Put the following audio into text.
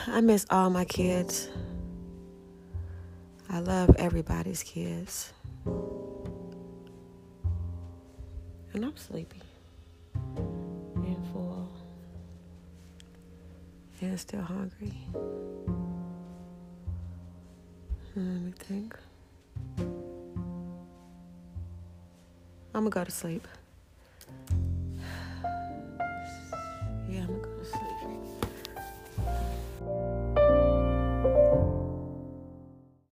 I miss all my kids. I love everybody's kids. And I'm sleepy and full and still hungry. Let me think. I'm gonna go to sleep.